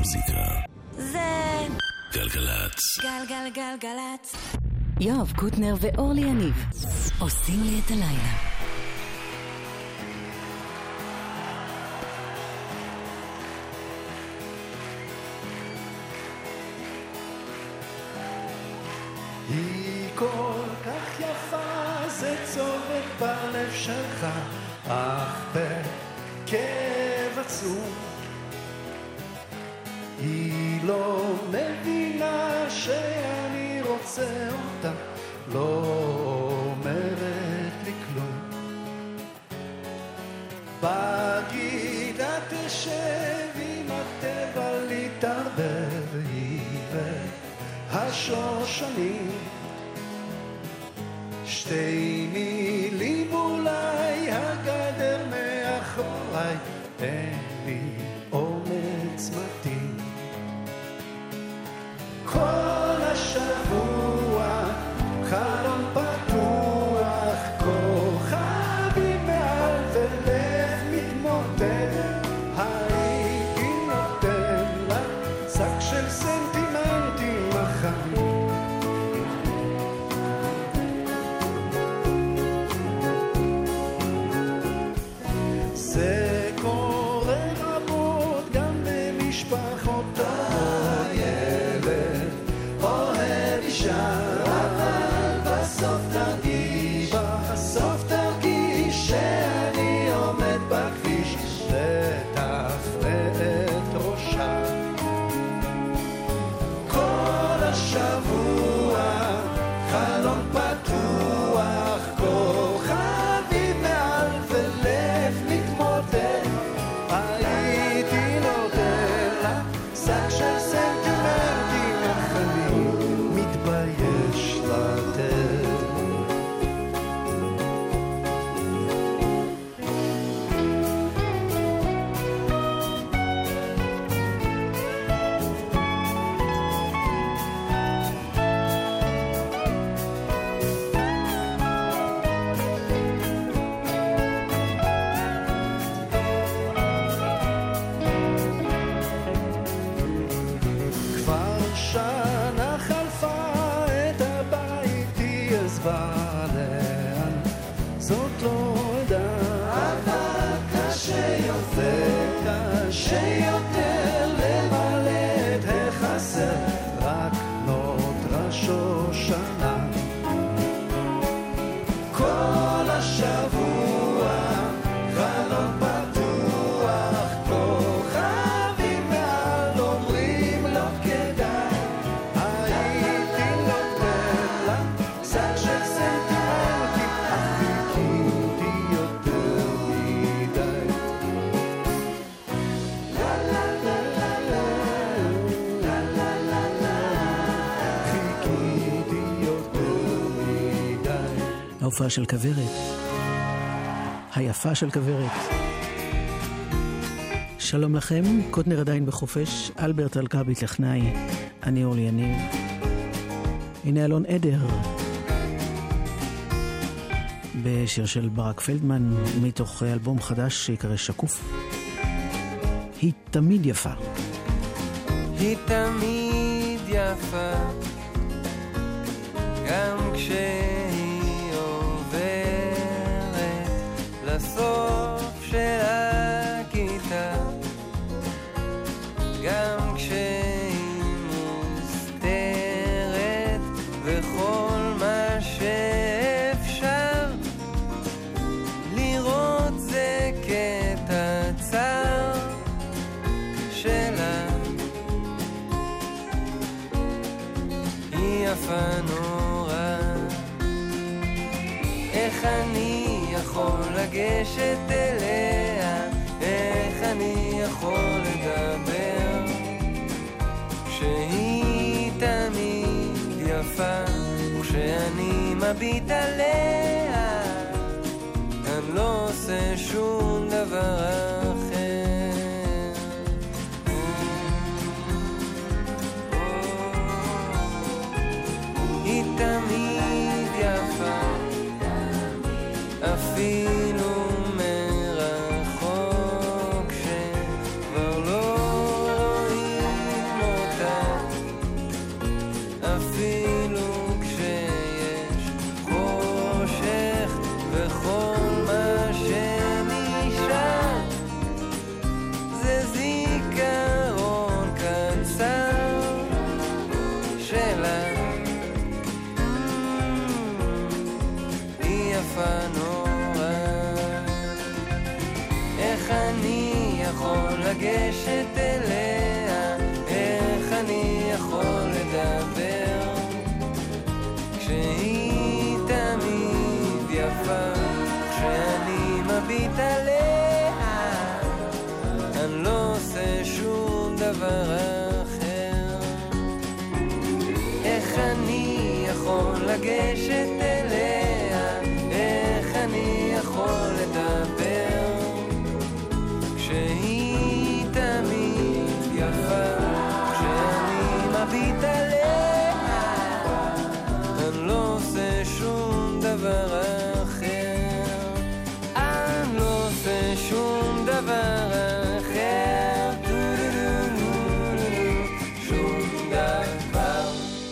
המוזיקה זה גלגלצ. גלגלגלגלצ. יואב קוטנר ואורלי יניב עושים לי את הלילה. היא כל כך יפה, זה צובט בלב שלך, אך בכאב עצום. היא לא מבינה שאני רוצה אותה, לא אומרת לי כלום. בגידה תשב עם הטבע להתערבב, היא והשושנים, שתי מילים אולי, הגדר מאחוריי, אין לי אומץ מתאים. כל השבוע חלום פתוח, כוכבים מעל ולב מתמוטט, הייתי נותן לה שק של סנטימנטים החיים. זה קורה רבות גם במשפחות, הילד אוהב אישה, אבל בסוף תרגיש שאני עומד בכביש ותפנה את ראשה. כל השבוע חלום פתוח, כוכבים מעל ולב מתמוטט, הייתי נותן לה שק של סנטימנטים החיים, מתבייש לתת. כבר שנה חלפה, את הבית היא עזבה, לאן זאת לא ידעה, אבל קשה יותר למלא את החסר, רק נותרה שושנה. כל השבוע חלום פתוח, כוכבים מעל אומרים לא כדאי, הייתי נותן לה שק של סנטימנטים, אך חיכיתי יותר מדי. לה לה לה לה לה לה לה לה לה, חיכיתי יותר מדי. ההופעה של כוורת, היפה של כוורת. שלום לכם, קוטנר עדיין בחופש, אלברט אלקבי טכנאי, אני אורלי יניב. הנה אלון עדר בשיר של ברק פלדמן מתוך אלבום חדש שיקרא שקוף. היא תמיד יפה. היא תמיד יפה, גם כשהיא עוברת לסוף של הכיתה, גם כשהיא מוסתרת וכל מה שאפשר לראות זה קטע צר שלה. היא יפה נורא, איך אני יכול לגשת אליה, איך אני יכול לדבר כשהיא תמיד יפה, וכשאני מביט עליה אני לא עושה שום דבר אחר. היא תמיד יפה, אפילו מרחוק שכבר לא רואים לגשת אליה, איך אני יכול לדבר כשהיא תמיד יפה, כשאני מביט עליה אני לא עושה שום דבר אחר, אני לא עושה שום דבר אחר, שום דבר.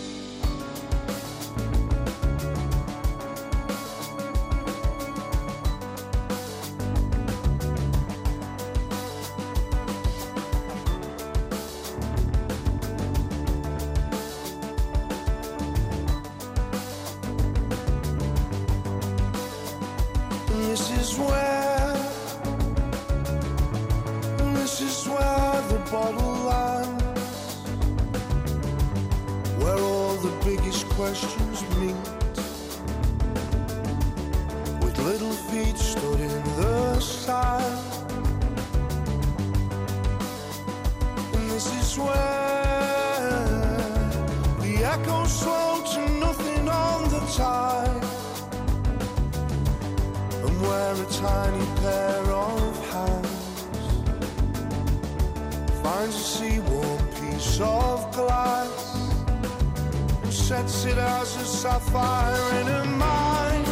This is where the bottle lands, where all the biggest questions meet, with little feet stood in the sand. And this is where the echoes slow to nothing on the tide, where a tiny pair of hands finds a sea-warm piece of glass and sets it as a sapphire in her mind.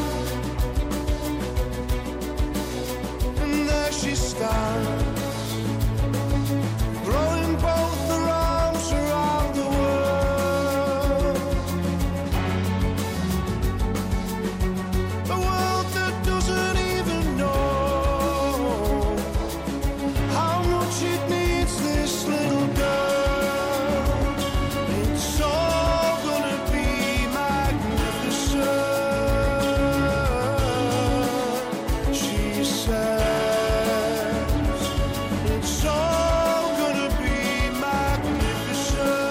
And there she stands, throwing both her arms around the world, a world that doesn't even know how much it needs this little girl. It's all gonna be magnificent, she says. It's all gonna be magnificent.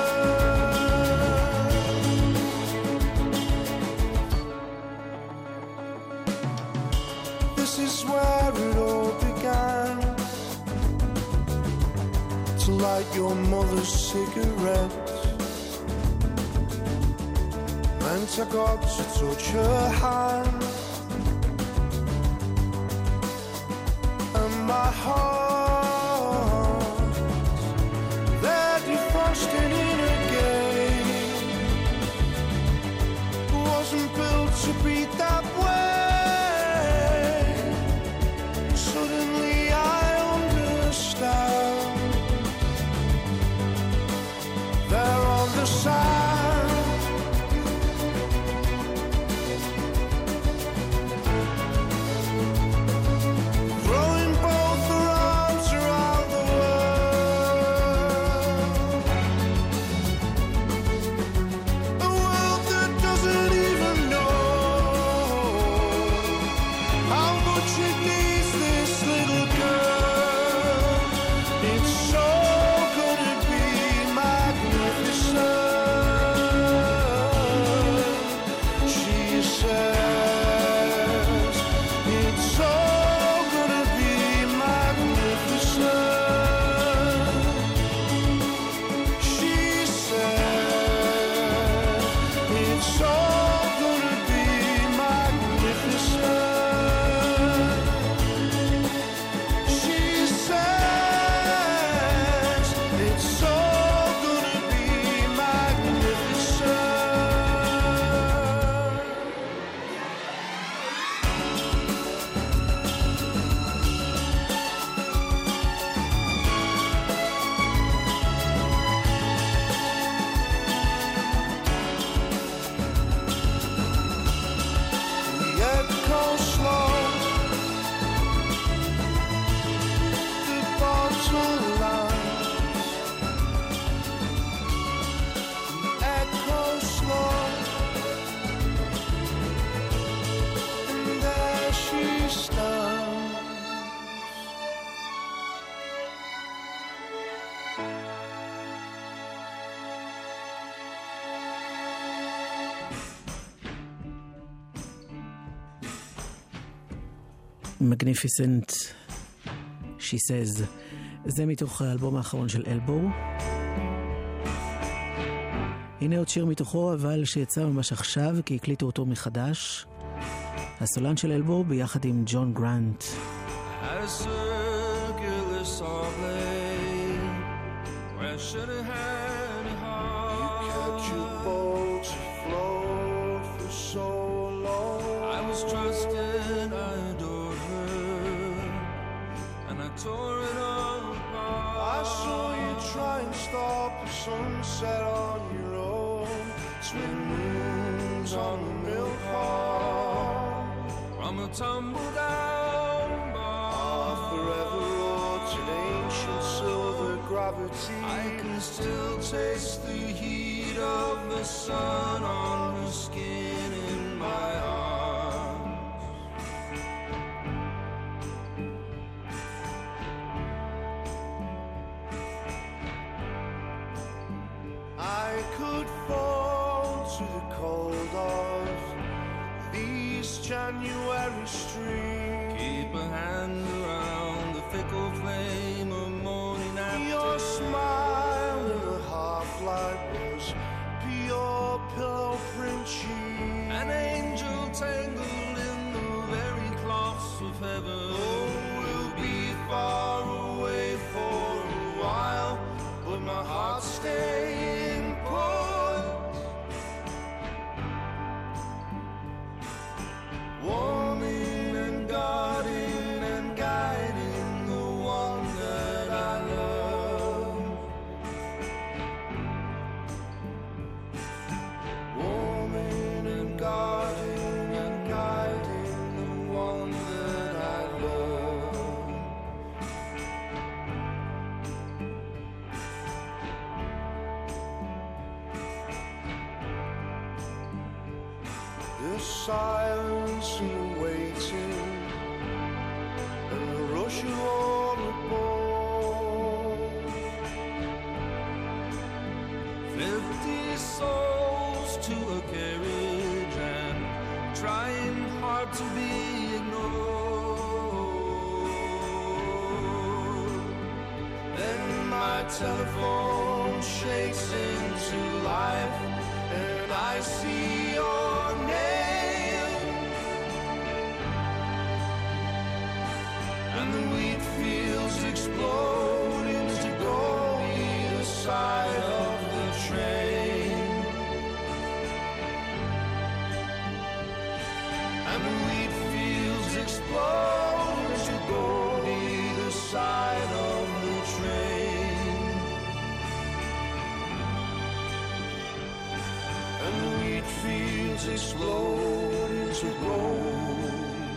This is where it all began, to light your mother's cigarettes, meant I got to touch her hand, and my heart, there defrosting in again, wasn't built to beat that way. Suddenly I understand, there on the sand, throwing both her arms around the world, a world that doesn't even know how much it needs this little girl. It's so gonna be magnificent, she says. It's all gonna be magnificent, she says. It's all gonna be magnificent, she says. It's all gonna be magnificent. The echo slow, the bottle lands, the echo slow, and there she stands. Magnificent, she says. זה מתוך האלבום האחרון של אלבו. הנה עוד שיר מתוכו, אבל שיצא ממש עכשיו, כי הקליטו אותו מחדש. הסולן של אלבו ביחד עם ג'ון גרנט. Tore it all apart. I saw you try and stop the sunset on your own. Twin moons on the milk heart. From a tumble down bar, forever wrought in ancient silver gravity. I can still taste the heat of the sun on her skin in my arms. I could fall to the cold of these January streets. Keep a hand around the fickle flame of morning after. Your smile in a half light was pure pillow print cheek. An angel tangled in the very cloths of heaven. Oh, we'll be far away for a while, but my heart's staying put. Warming and guarding and guiding the one that I love. Warming and guarding and guiding the one that I love. The silence and the waiting and the rush of all the board. 50 souls to a carriage and trying hard to be ignored. Then my telephone shakes into life and I see your name, and the wheat fields explode into gold either side of the train, and the wheat fields explode into gold either side of the train, and the wheat fields explode into gold.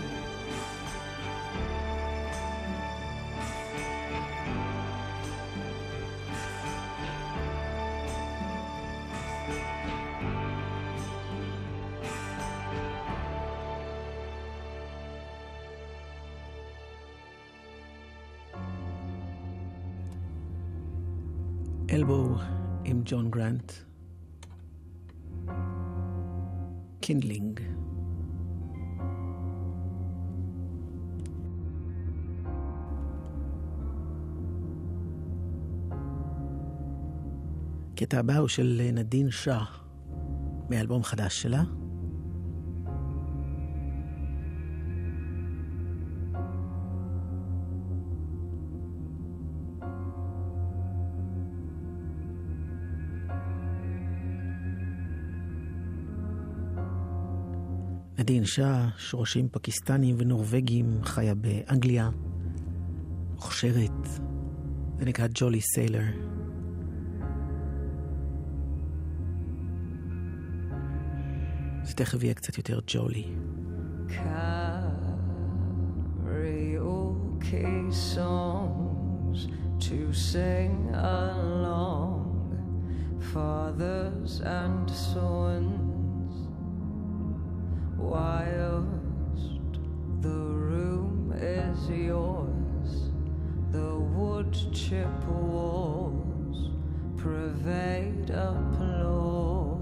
אלבו עם ג'ון גרנט. קינדלינג. הקטע הבא הוא של נדין שאה מאלבום חדש שלה. נדין שאה, שורשים פקיסטנים ונורווגים, חיה באנגליה, מוכשרת, זה נקרא ג'ולי סיילר. זה תכף יהיה קצת יותר ג'ולי. Karaoke songs to sing along, fathers and sons, whilst the room is yours, the wood chip walls pervade applause.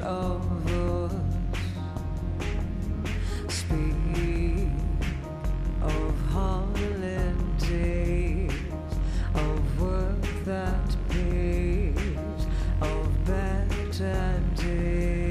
of us. Speak of holidays, of work that pays, of better days.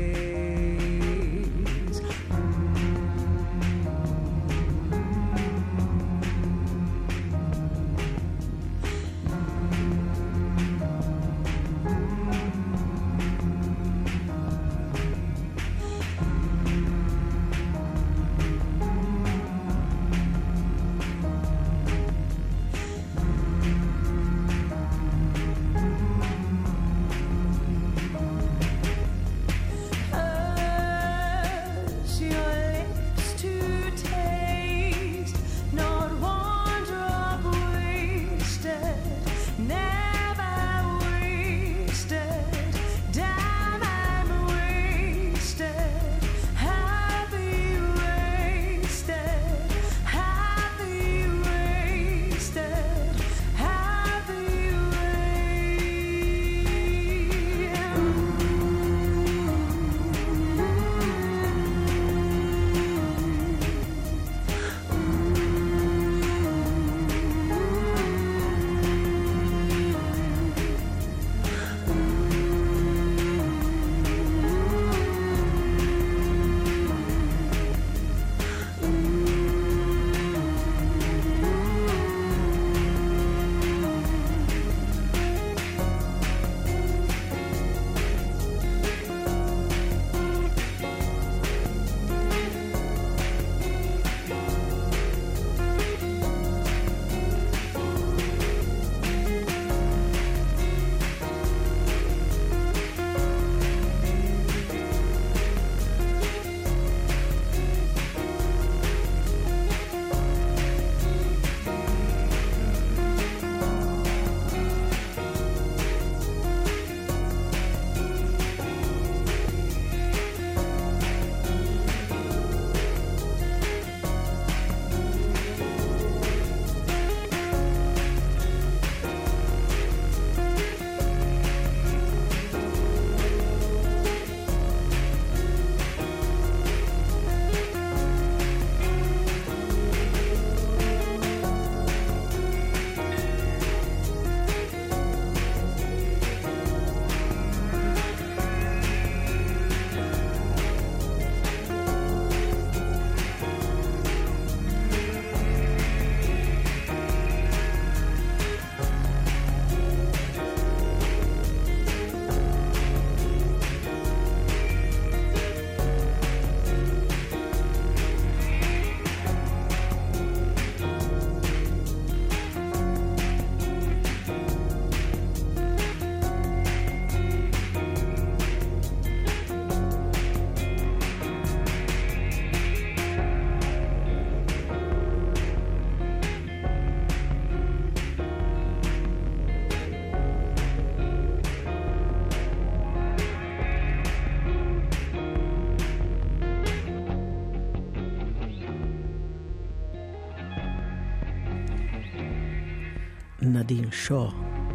נדין שו.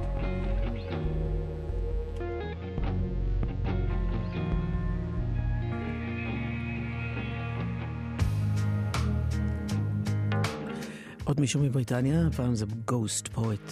עוד מישהו מבריטניה, הפעם זה גוסט פואט.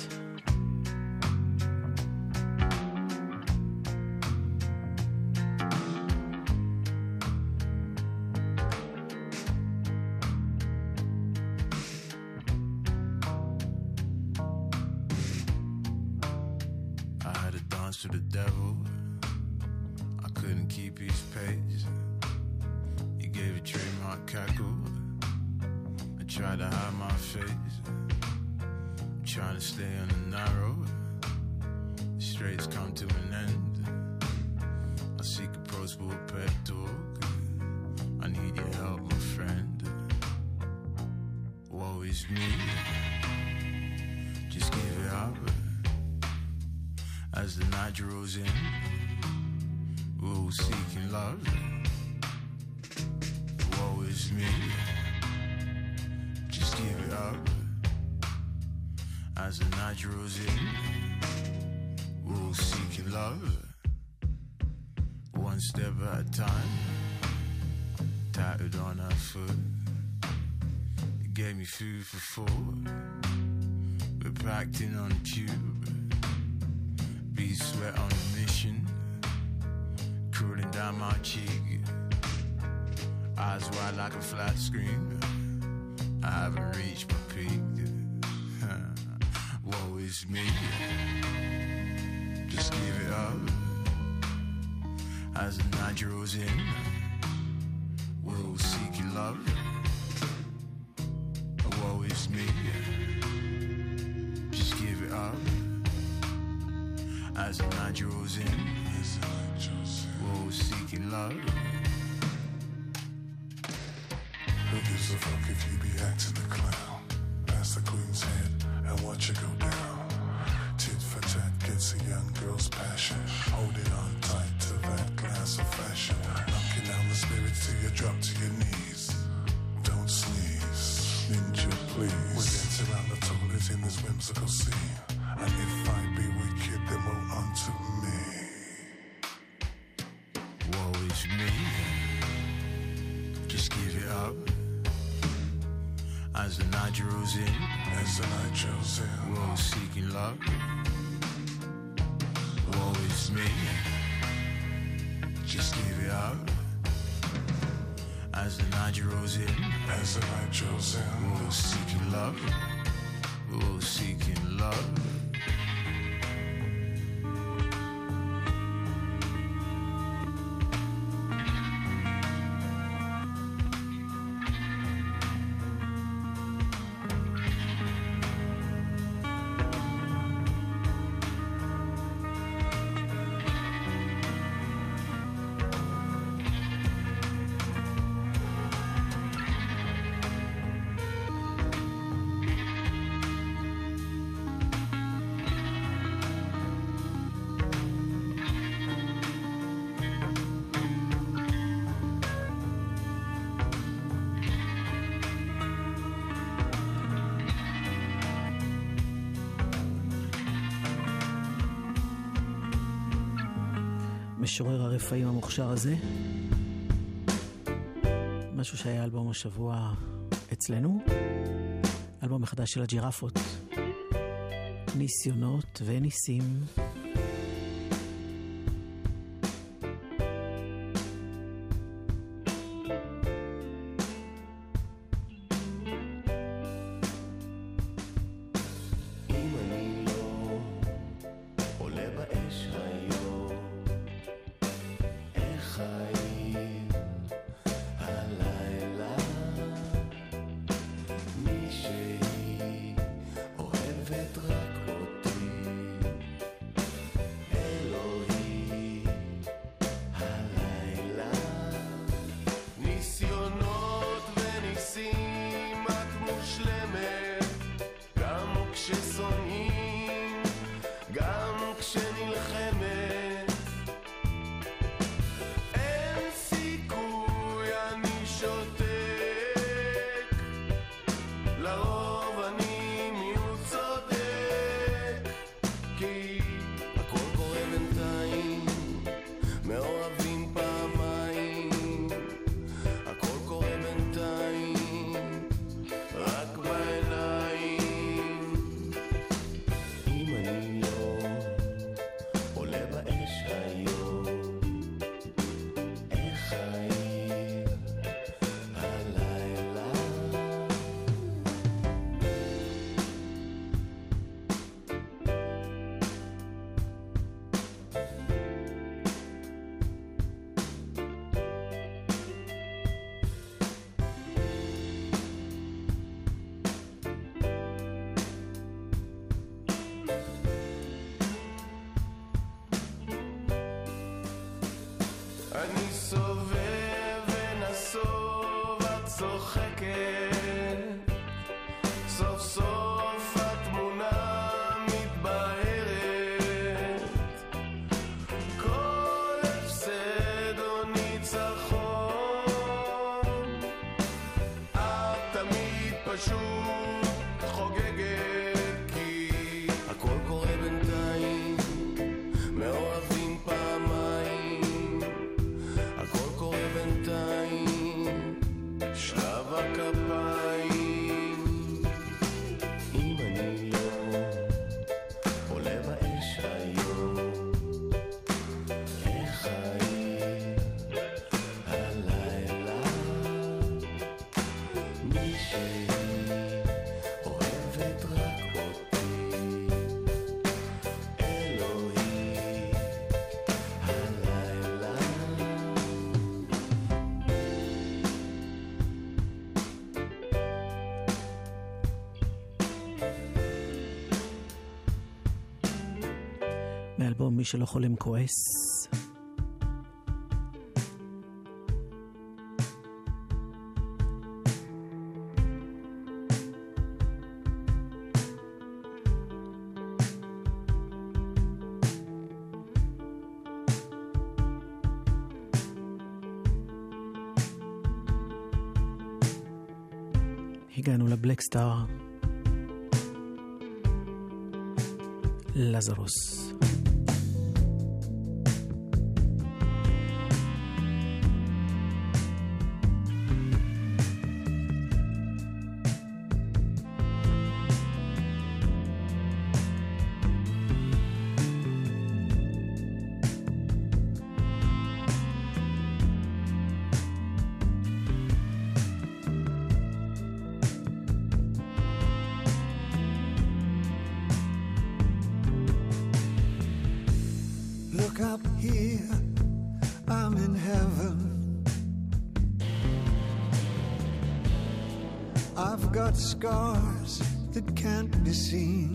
To the devil, I couldn't keep his pace. He gave a trademark cackle. I tried to hide my face. I'm trying to stay on the narrow. The straight's come to an end. I seek approachable pep talk. I need your help, my friend. Woe is me. Just give it up. As the night draws in, we're all seeking love. Woe is me. Just give it up. As the night draws in, we're all seeking love. one step at a time, tattooed on her foot. It gave me food for thought. We're packed in on a tube, bees sweat on a mission, cooling down my cheek. Eyes wide like a flat screen, I haven't reached my peak. Woe is me, just give it up. As the night draws in, we'll seek your love. Woe is me, just give it up. As the night draws in, we'll seek your love. Who gives a fuck if you be acting the clown? Pass the queen's head and watch it go down. Tit for tat gets a young girl's passion. Holding on tight to that glass of fashion. Knocking down the spirits till you drop to your knees. Don't sneeze, ninja please. We dance around the toilet in this whimsical scene. And if I be wicked, then woe unto me. Woe is me, just give it up. As the night draws in, we're seeking love. Woe is me, just give it up. As the night draws in, we're seeking love. We're seeking love. משורר הרפאים המוכשר הזה, משהו שהיה אלבום השבוע אצלנו, אלבום מחדש של הג'ירפות, ניסיונות וניסים. אני סובב ונסוב, את צוחקת, סוף סוף התמונה מתבהרת, כל הפסד או ניצחון, את תמיד פשוט חוגגת, כי הכל קורה בינתיים, מאוהבים פעמיים, אוהבת רק אותי, אלוהי הלילה. מאלבום מי שלא חולם כועס. הגענו לבלק סטאר, לזרוס. Look up here, I'm in heaven. I've got scars that can't be seen.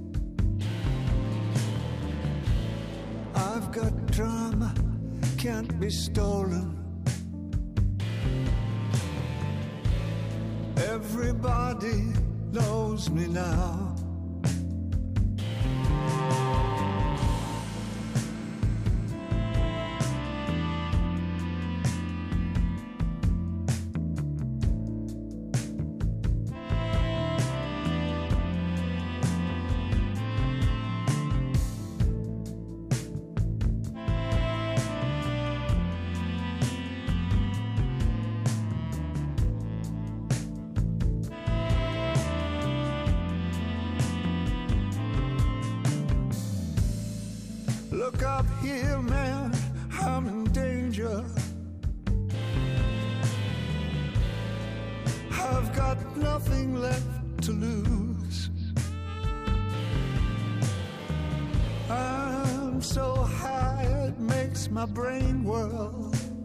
I've got drama, can't be stolen. Everybody knows me now. Look up here, man, I'm in danger. I've got nothing left to lose. I'm so high it makes my brain whirl.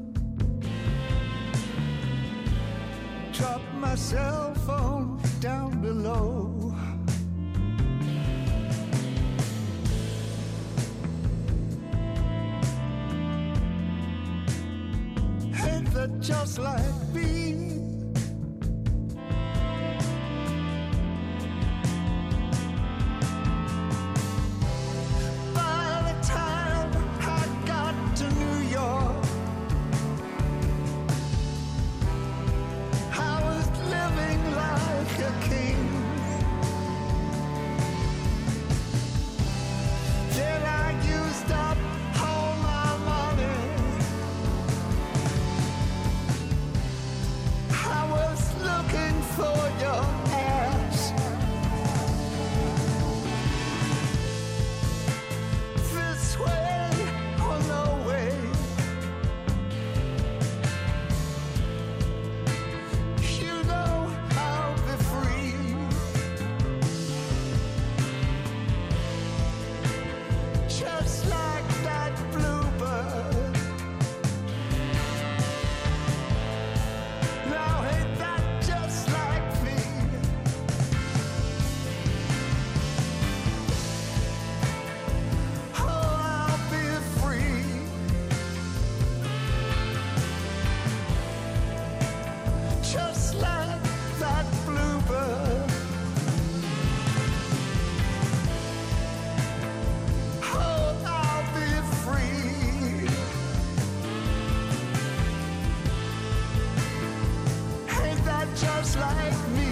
Drop my cell phone down below. Just like me. By the time I got to New York, I was living like a king. Then I used up all my money. I was looking for your ass. This way or no way. You know I'll be free. Just like that bluebird. Now ain't that just like me? Oh, I'll be free. Just like that bluebird. Oh, I'll be free. Ain't that just like me?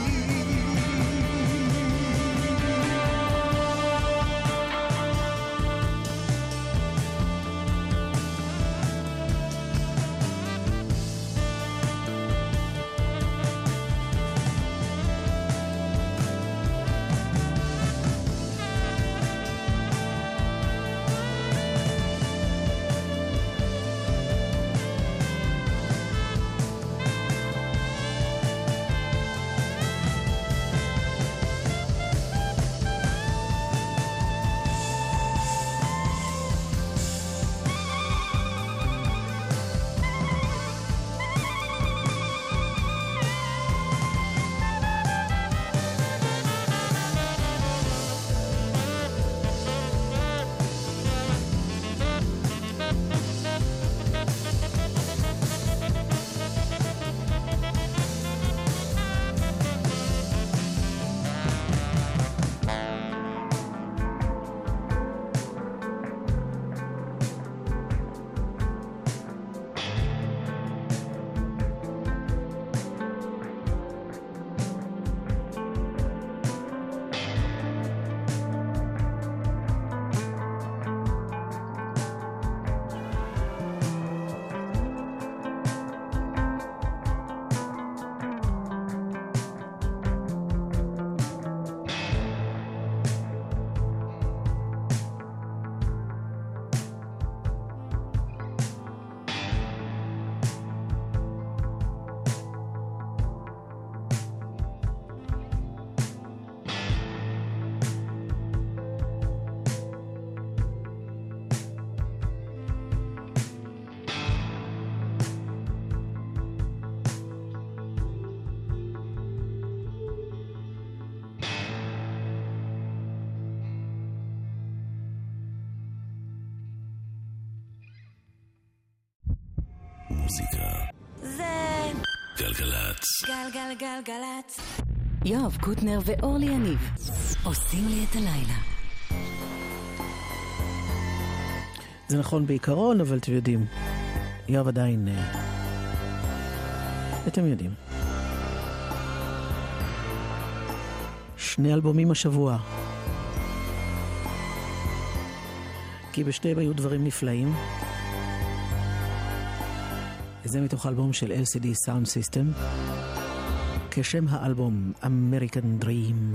המוזיקה. זה גלגלצ. גלגלגלגלצ. יואב קוטנר ואורלי יניב עושים לי את הלילה. זה נכון בעיקרון, אבל אתם יודעים, יואב עדיין, אתם יודעים. 2 אלבומים השבוע. כי בשתיהם היו דברים נפלאים. זה מתוך אלבום של LCD Sound System, כשם האלבום American Dream.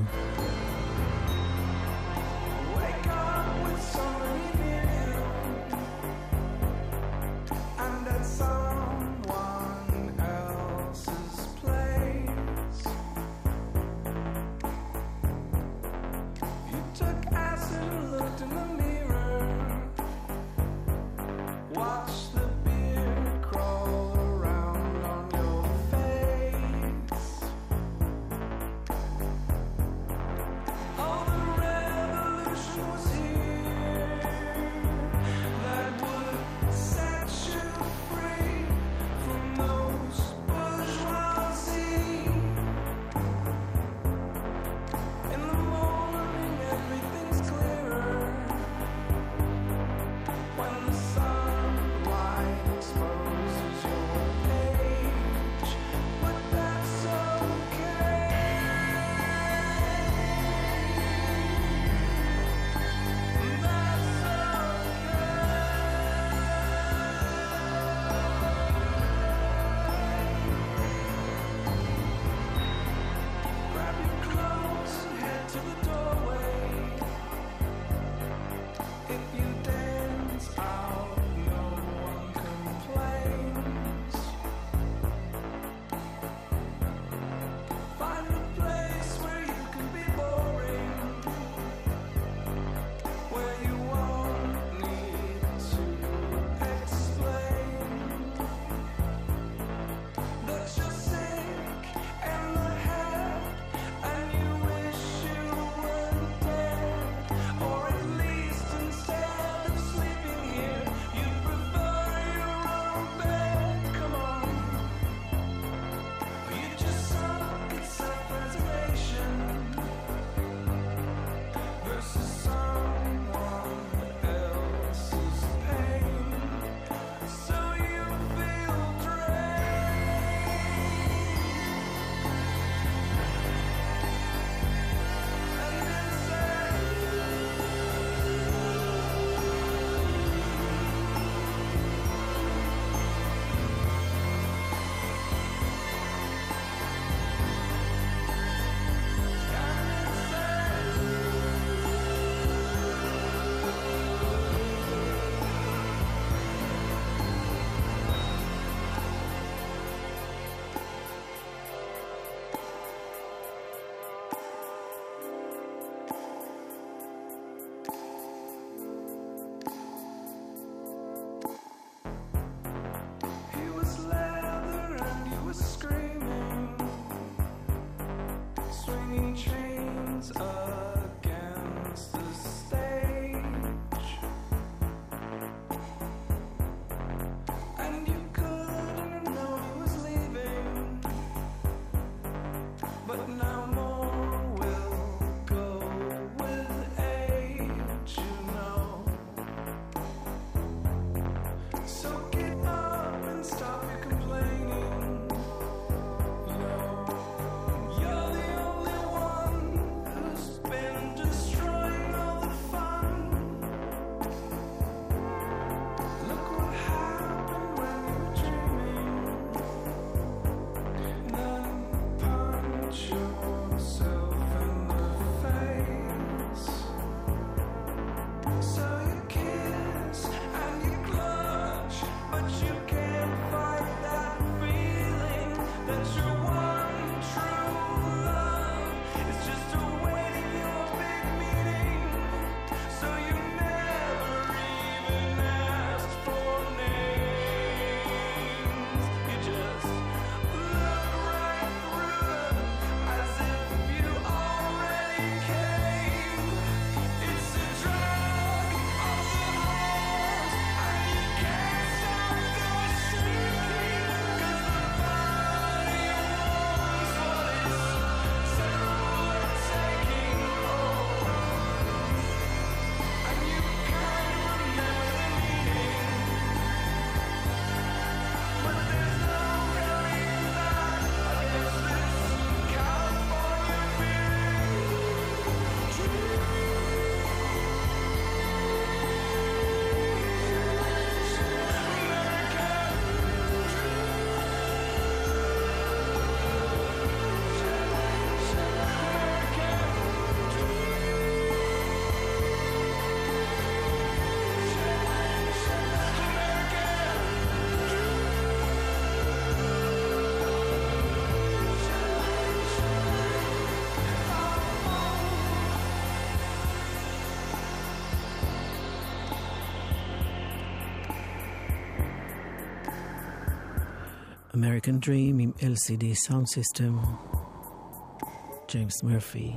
American Dream עם LCD Sound System, ג'יימס מרפי.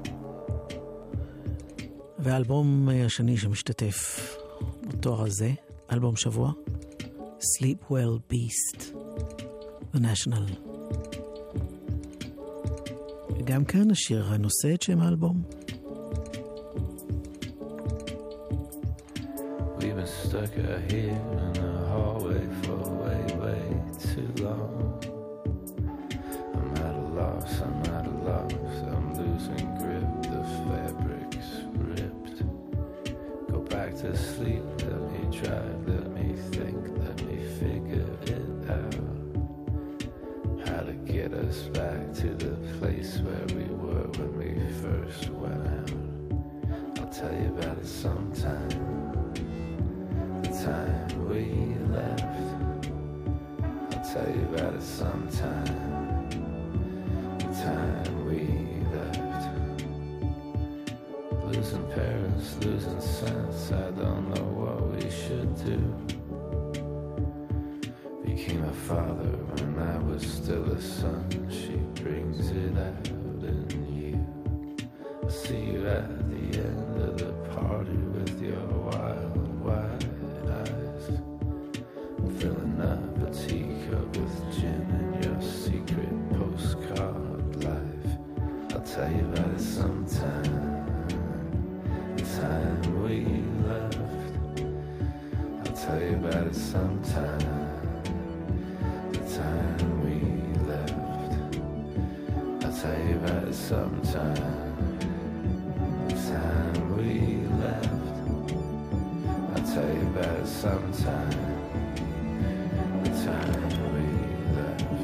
והאלבום השני שמשתתף בתואר הזה, אלבום שבוע, Sleep Well Beast, The National. וגם כאן השיר הנושא את שם האלבום. We've been stuck out here in the hallway for way, way too long. I'm at a loss, I'm losing grip, the fabric's ripped. Go back to sleep, let me drive, let me think, let me figure it out. How to get us back to the place where we were when we first went out. I'll tell you about it sometime. The time we left, I'll tell you about it sometime. The time we left. Losing parents, losing sense, I don't know what we should do. Became a father when I was still a son, she brings it out in you. I'll see you at the end of the party with your wild, wide eyes. I'm filling up a teacup with gin and your secret postcard life. I'll tell you about it sometime. The time we left, I'll tell you about it sometime. The time we left, I'll tell you about it sometime. The time we left, I'll tell you about it sometime. The time we left.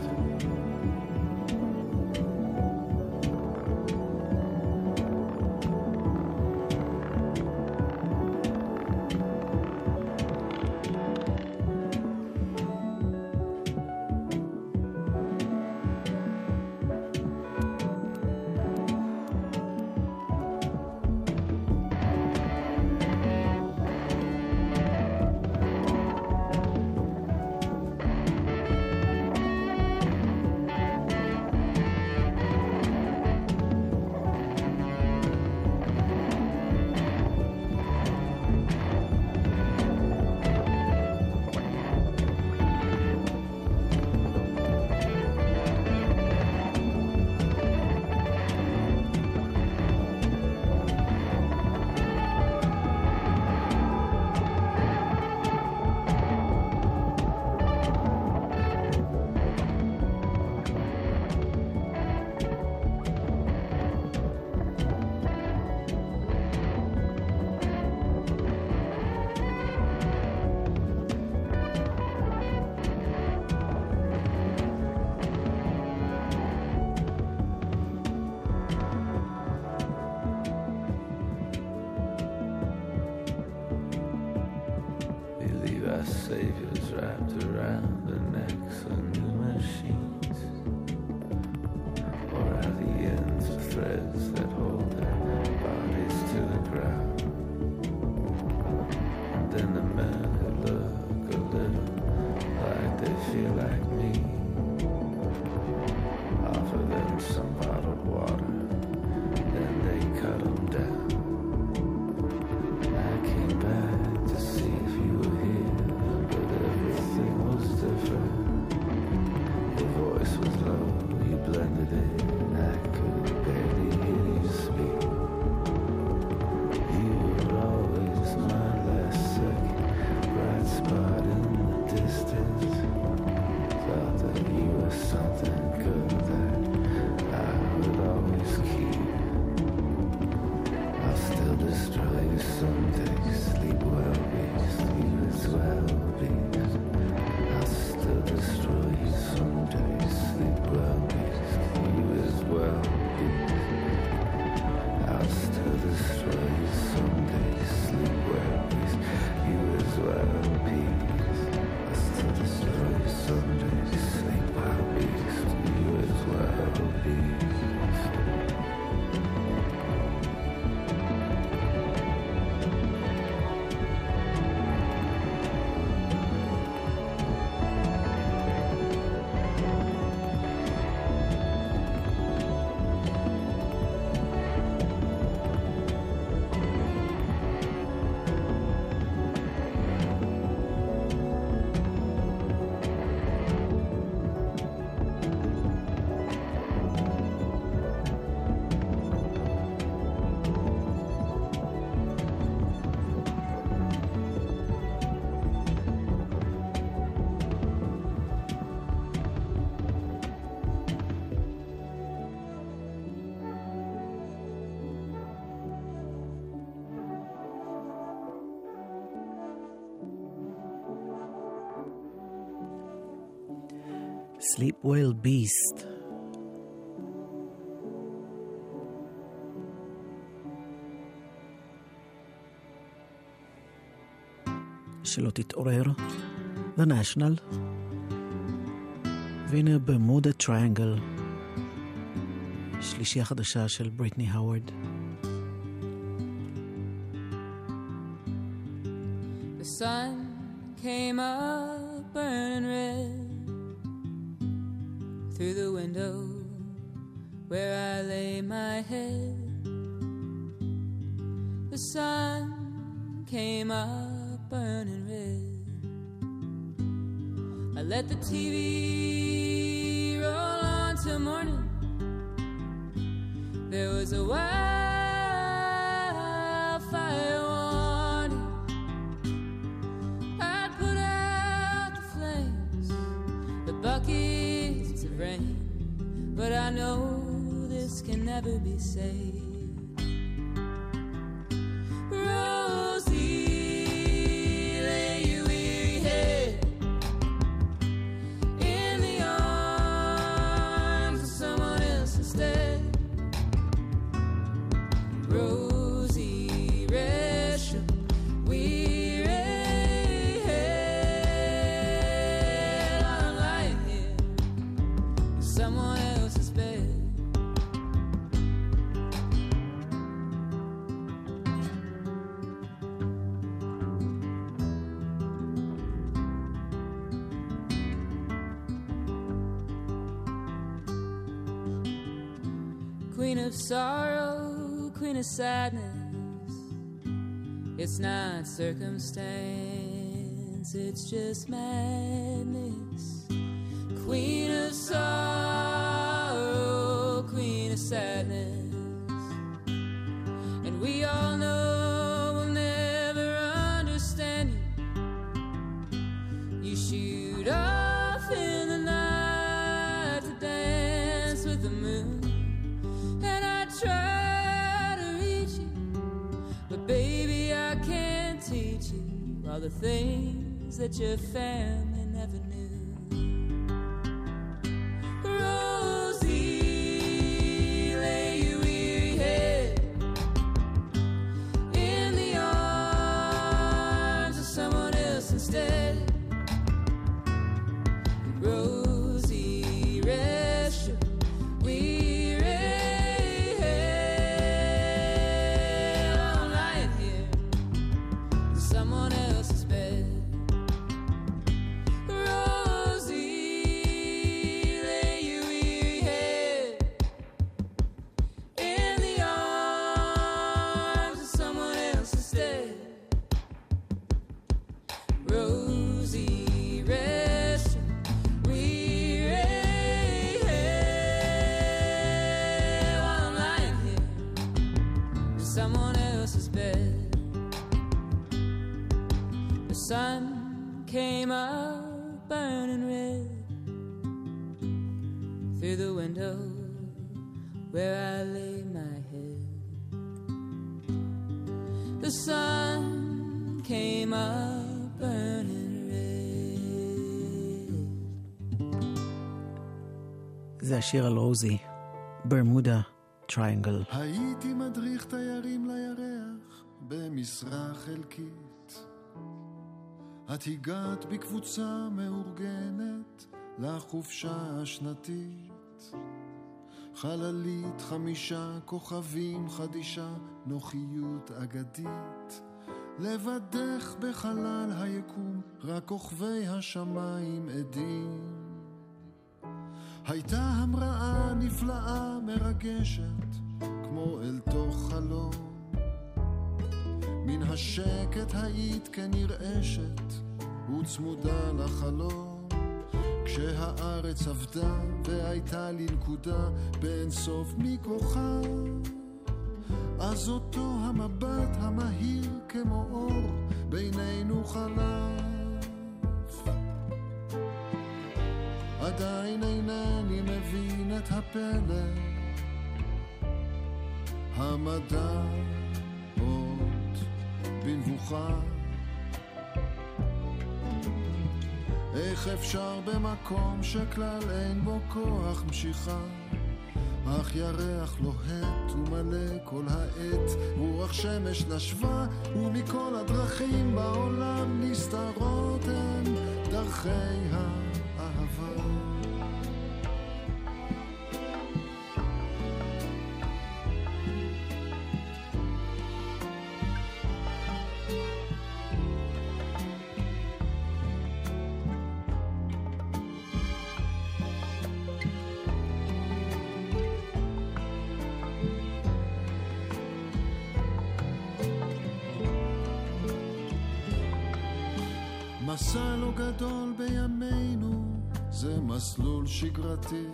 Saviors wrapped around the necks of new machines, or at the ends of threads that hold their bodies to the ground. And then the men who look a little like they feel like me, offer them some bottled water, then they cut them down. I came back to see if you were here, but everything was different. Sleep Well Beast. שלא תתעורר. The National. והנה במודה טריינגל. שלישייה חדשה של בריטני האוורד. The sun came up burning red through the window where I lay my head. The sun came up burning red. I let the TV roll on till morning. There was a wildfire warning. I'd put out the flames, the buckets of rain, but I know this can never be saved. Queen of sorrow, queen of sadness. It's not circumstance, it's just madness. Queen of sorrow, queen of sadness. And we all know we'll never understand you. You shoot off in the night to dance with the moon. Try to reach you, but baby I can't teach you all the things that your family never knew. Rosie, lay your weary head in the arms of someone else instead. Rosie, rest your weary someone else's bed. Rosie, lay your weary head in the arms of someone else instead. Rosie, rest your weary head while I'm lying here in someone else's bed. The sun came up burning red through the window where I lay my head. The sun came up burning red. זה השיר על רוזי, ברמודה טריינגל. הייתי מדריך תיירים לירח במשרה חלקית. את הגעת בקבוצה מאורגנת לחופשה השנתית. חללית 5 כוכבים חדישה, נוחיות אגדית. לבדך בחלל היקום, רק כוכבי השמיים עדים. הייתה המראה נפלאה מרגשת, כמו אל תוך חלום. מן השקט היית כנרעשת וצמודה לחלום. כשהארץ עבדה והייתה לי נקודה בין סוף מכוכב, אז אותו המבט המהיר כמו אור בינינו חלף. עדיין אינני מבין את הפלא, המדע עוד במבוכה. איך אפשר במקום שכלל אין בו כוח משיכה, אך ירח לוהט ומלא כל העת, רוח שמש נשבה ומכל הדרכים בעולם נסתרות הן דרכי האהבה. מסע לא גדול בימינו, זה מסלול שגרתי,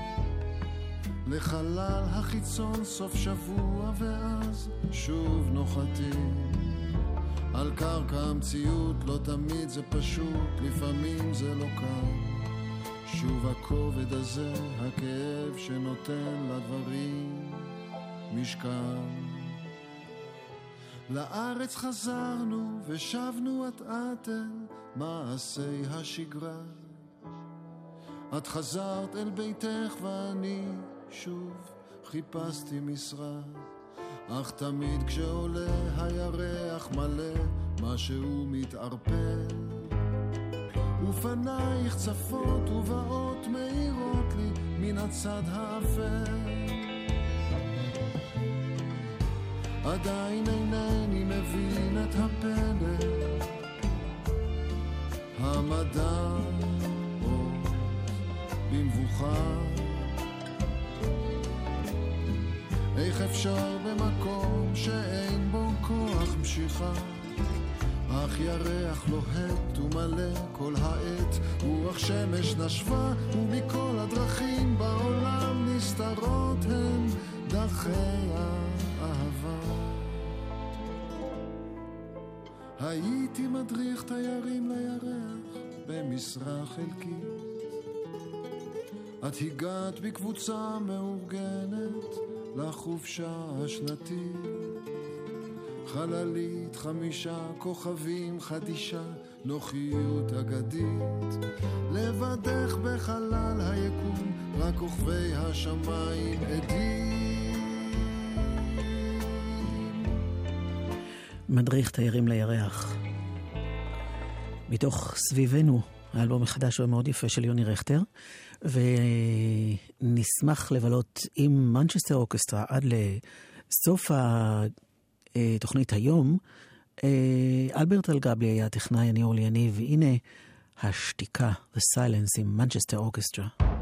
לחלל החיצון סוף שבוע ואז שוב נוחתים. על קרקע המציאות לא תמיד זה פשוט, לפעמים זה לא קל. שוב הכובד הזה, הכאב שנותן לדברים משקל. לארץ חזרנו ושבנו את אל מעשי השגרה. את חזרת אל ביתך ואני שוב חיפשתי משרה, אך תמיד כשעולה הירח מלא משהו מתערפל, ופנייך צפות ובאות מאירות לי מן הצד האפל. עדיין אינני מבין את הפלא, המדע עוד במבוכה. איך אפשר במקום שאין בו כוח משיכה, אך ירח לוהט ומלא כל העת, רוח שמש נשבה ומכל הדרכים בעולם נסתרות הן דרכי האהבה. הייתי מדריך תיירים לירח במשרה חלקית, את הגעת בקבוצה מאורגנת לחופשה השנתית, חללית 5 כוכבים חדישה, נוחיות אגדית, לבדך בחלל היקום רק כוכבי השמיים עדים. מדריך תיירים לירח, מתוך סביבנו, האלבום החדש והמאוד יפה של יוני רכטר, ונשמח לבלות עם מנצ'סטר אורקסטרה עד לסוף התוכנית היום. אלברט אלגבי היה הטכנאי, אני אורלי יניב, והנה השתיקה, The Silence עם מנצ'סטר אורקסטרה.